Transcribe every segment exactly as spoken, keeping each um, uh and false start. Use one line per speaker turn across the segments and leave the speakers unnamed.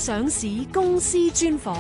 上市公司專訪。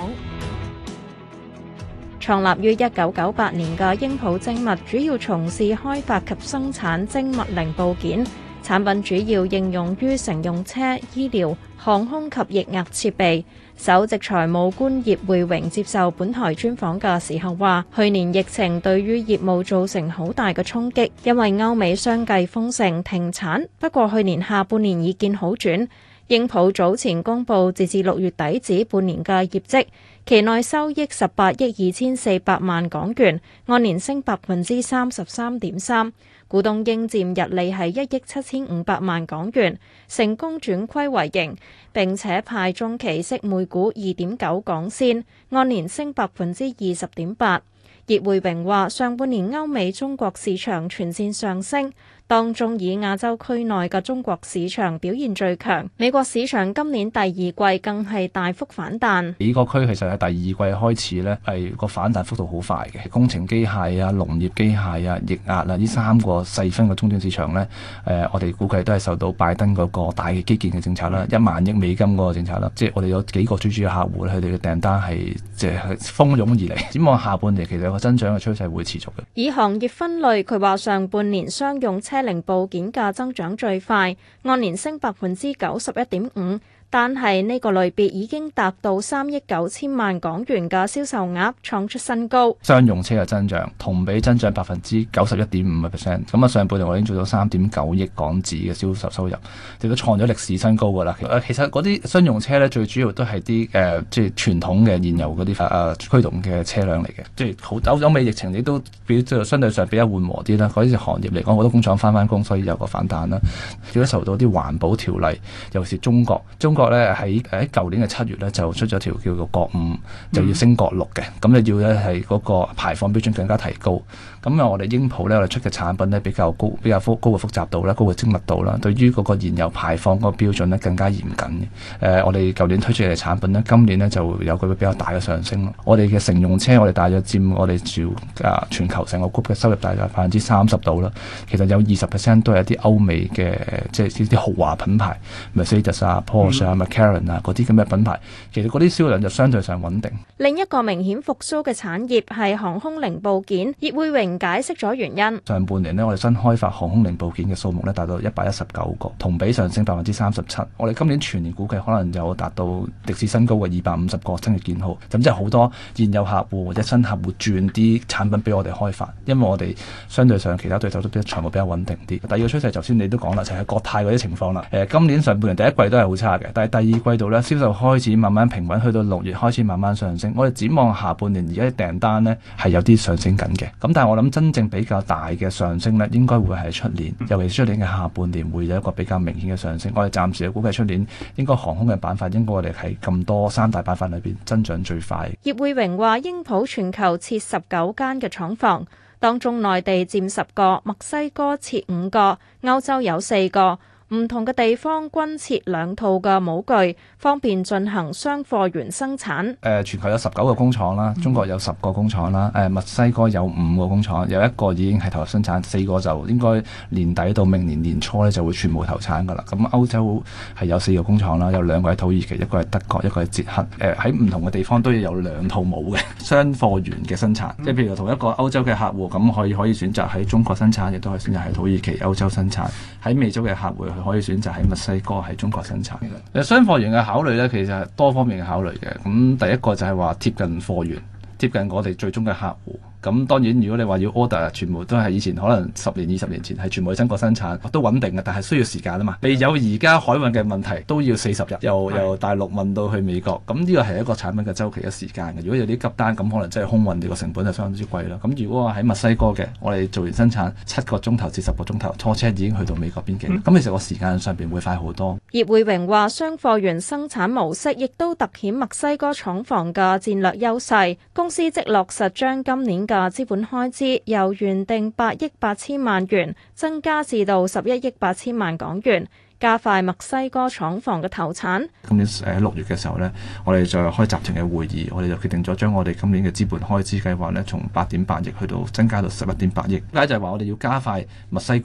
創立於一九九八年嘅鷹普精密，主要從事開發及生產精密零部件，產品主要應用於乘用車、醫療、航空及液壓設備。首席財務官葉匯榮接受本台專訪嘅時候話，去年疫情對於業務造成好大嘅衝擊，因為歐美相繼封城停產。不過去年下半年已見好轉。鷹普早前公布截至六月底止半年嘅業績，期內收益十八億二千四百萬港元，按年升百分之三十三點三，股東應佔溢利係一億七千五百萬港元，成功轉虧為盈，並且派中期息每股二點九港仙，按年升百分之二十點八。葉匯榮話：上半年歐美中國市場全線上升，當中以亞洲區內嘅中國市場表現最強，美國市場今年第二季更係大幅反彈。
美國區其實喺第二季開始呢，係個反彈幅度好快嘅，工程機械啊、農業機械啊、液壓啊呢三個細分嘅中端市場呢，誒、呃、我哋估計都係受到拜登嗰個大嘅基建嘅政策啦，一萬億美金嗰個政策啦，即係我哋有幾個最主要客戶，佢哋嘅訂單係即係蜂擁而嚟。展望下半年，其實個增長嘅趨勢會持續嘅。
以行業分類，佢話上半年商用車零部件嘅增長最快，按年升百分之九十一點五。但係呢個類別已經達到三億九千萬港元嘅銷售額，創出新高。
商用車嘅增長同比增長百分之九十一點五嘅 percent， 咁啊上半年我已經做到三點九億港紙嘅銷售收入，亦都創咗歷史新高㗎啦。其實嗰啲商用車咧，最主要都係啲誒即係傳統嘅燃油嗰啲誒驅動嘅車輛嚟嘅，即係好歐美疫情亦都比即係相對上比較緩和啲啦。嗰啲行業嚟講，好多工廠翻翻工，所以有個反彈啦。亦都受到啲環保條例，尤其是中國，中國咧喺喺舊年嘅七月咧就出咗條叫做國五，就要升國六嘅，咁你要咧係嗰個排放標準更加提高。咁啊，我哋鷹普咧，我哋出嘅產品咧比較高，比較高嘅複雜度啦，高嘅精密度啦，對於嗰個燃油排放嗰個標準咧更加嚴謹嘅。誒、呃，我哋舊年推出嚟嘅產品咧，今年咧就有個比較大嘅上升咯。我哋嘅乘用車，我哋大約佔我哋主啊全球成個 group 嘅收入大約百分之三十度啦。其實有二十 percent 都係一啲歐美嘅，即係呢啲豪華品牌 ，Mercedes 啊、Porsche 啊、McLaren 啊嗰啲咁嘅品牌，其實嗰啲銷量就相對上穩定。
另一個明顯復甦嘅產業係航空零部件，葉匯榮解釋咗原因。
上半年呢，我哋新開發航空零部件嘅數目咧達到一百一十九個，同比上升百分之三十七。我哋今年全年估計可能有達到歷史新高嘅二百五十個新嘅件號。咁即係好多現有客戶或者新客戶轉啲產品俾我哋開發，因為我哋相對上其他對手都啲財務比較穩定啲。第二個趨勢，頭先你都講啦，就係、是、國泰嗰啲情況啦。誒、呃，今年上半年第一季都係好差嘅，但係第二季度咧銷售開始慢慢平穩，去到六月開始慢慢上升。我哋展望下半年而家啲訂單呢係有啲上升緊嘅。咁但係我諗真正比較大嘅上升呢，應該會係出年，尤其是出年嘅下半年會有一個比較明顯嘅上升。我哋暫時嘅估計出年應該航空嘅板塊應該我哋係咁多三大板塊裏邊增長最快。
葉匯榮話：鷹普全球設十九間嘅廠房，當中內地佔十個，墨西哥設五個，歐洲有四個。唔同嘅地方均設兩套嘅模具，方便進行雙貨源生產。誒、
呃，全球有十九個工廠啦，中國有十個工廠啦，誒、呃，墨西哥有五個工廠，有一個已經係投入生產，四個就應該年底到明年年初咧就會全部投產㗎啦。咁歐洲係有四個工廠啦，有兩個喺土耳其，一個係德國，一個係捷克。誒、呃，喺唔同嘅地方都要有兩套模嘅雙貨源嘅生產，即係譬如同一個歐洲嘅客戶，咁可以可以選擇喺中國生產，亦都可以選擇喺土耳其、歐洲生產。喺美洲嘅客戶，佢可以選擇喺墨西哥、喺中國生產嘅。誒，雙貨源嘅考慮咧，其實係多方面嘅考慮嘅。咁第一個就係話貼近貨源，貼近我哋最終嘅客戶。咁當然，如果你話要 order，全部都係以前可能十年、二十年前係全部喺中國生產，都穩定嘅，但係需要時間啊嘛。未有而家海運嘅問題，都要四十日，由由大陸運到去美國。咁呢個係一個產品嘅周期嘅時間嘅。如果有啲急單，咁可能真係空運，呢個成本就相當之貴啦。咁如果我喺墨西哥嘅，我哋做完生產七個鐘頭至十個鐘頭，拖車已經去到美國邊境。咁、嗯、其實個時間上邊會快好多。
葉匯榮話：雙貨源生產模式亦都突顯墨西哥廠房嘅戰略優勢。公司即落實將今年嘅資本開由原定八億八千萬元增加至到十一億八千萬港元，加快墨西哥廠房嘅投產。
今年誒六月嘅時候呢，我哋就開集團嘅會議，我哋就決定咗將我哋今年嘅資本開支計劃呢，從八點八億去到增加到十一點八億。咁就係話我哋要加快墨西哥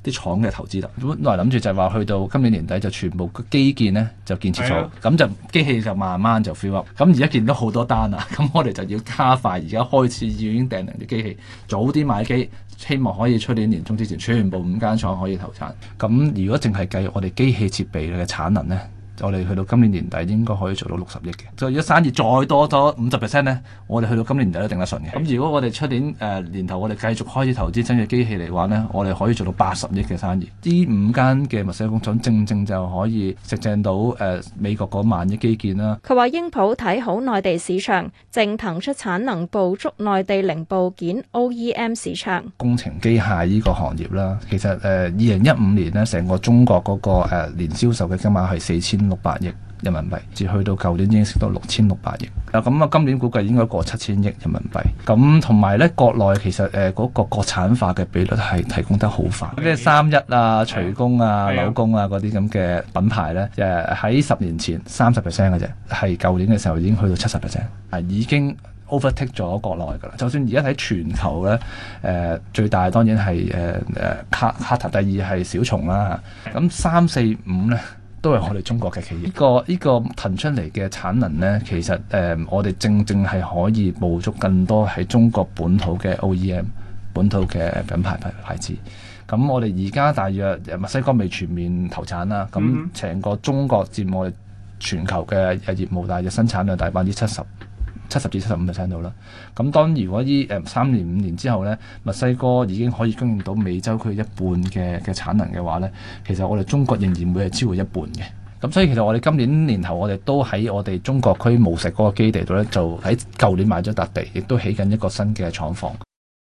啲廠嘅投資啦。本來諗住就係話去到今年年底就全部基建呢就建設咗，咁就機器就慢慢就 fill up。咁而家見到好多單啦，咁我哋就要加快，而家開始已經訂定啲機器，早啲買機，希望可以出年年中之前全部五間廠可以投產。咁如果淨係計我哋機器設備嘅產能呢，我哋去到今年年底應該可以做到六十億嘅。所以如果生意再多咗五十 percent 咧，我哋去到今年年底都定得順嘅。咁如果我哋出年誒、呃、年頭我哋繼續開始投資新嘅機器嚟話呢，我哋可以做到八十億嘅生意。呢五間嘅墨西哥工廠正正就可以食正到誒、呃、美國嗰萬億基建啦。
佢話英普睇好內地市場，正騰出產能捕捉內地零部件 O E M 市場。
工程機械呢個行業啦，其實誒二零一五年呢，成個中國嗰、那個誒、呃、年銷售嘅金額係四千六百億人民幣，至去到舊年已經升到六千六百億。啊，咁啊，今年估計應該過七千億人民幣。咁同埋咧，國內其實誒嗰、呃那個國產化嘅比率係提供得好快，即係三一啊、徐工啊、柳工啊嗰啲咁嘅品牌咧，誒喺十年前三十 percent 嘅啫，係舊年嘅時候已經去到七十 percent，係已經 overtake 咗國內㗎啦。就算而家睇全球咧，誒、呃、最大當然係誒誒卡卡塔，第二係小蟲啦。咁三四五咧，都係我哋中國嘅企業。呢、這個呢、這個騰出嚟嘅產能呢，其實誒、呃、我哋正正係可以捕捉更多喺中國本土嘅 O E M 本土嘅品牌牌牌子。咁我哋而家大約墨西哥未全面投產啦，咁成個中國佔我哋全球嘅業務大約生產量大百分之七十。七十至七十五 percent 到啦。咁當如果依誒三年五年之後咧，墨西哥已經可以供應到美洲區一半嘅嘅產能嘅話咧，其實我哋中國仍然會係超過一半嘅。咁所以其實我哋今年年頭我哋都喺我哋中國區務實嗰個基地度咧，就喺舊年買咗笪地，亦都起緊一個新嘅廠房。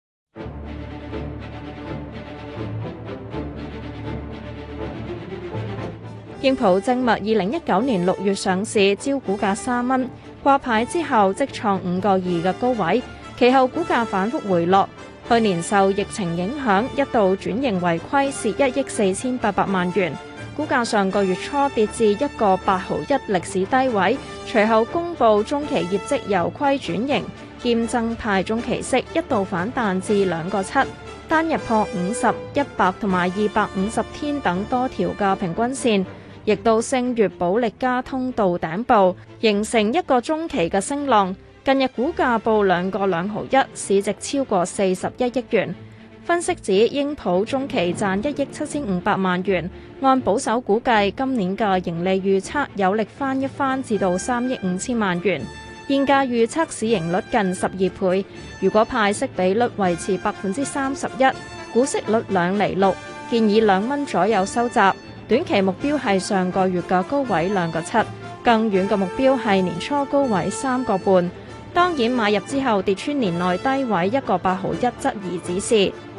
英普精密二零一九年六月上市，招股價三蚊，掛牌之後即創五個二嘅高位，其後股價反覆回落。去年受疫情影響，一度轉型為虧，蝕一億四千八百萬元。股價上個月初跌至一個八毫一歷史低位，隨後公布中期業績由虧轉盈，兼增派中期息，一度反彈至兩個七，單日破五十、一百同埋二百五十天等多條嘅平均線。亦都升越保力加通道頂部，形成一個中期嘅升浪。近日股價報兩個兩毫一，市值超過四十一億元。分析指英普中期賺一億七千五百萬元，按保守估計，今年嘅盈利預測有力翻一番至到三億五千萬元。現價預測市盈率近十二倍，如果派息比率維持百分之三十一，股息率兩厘六，建議兩蚊左右收集。短期目標係上個月嘅高位兩個七，更遠嘅目標係年初高位三個半。當然買入之後跌穿年內低位一個八毫一，質疑止蝕。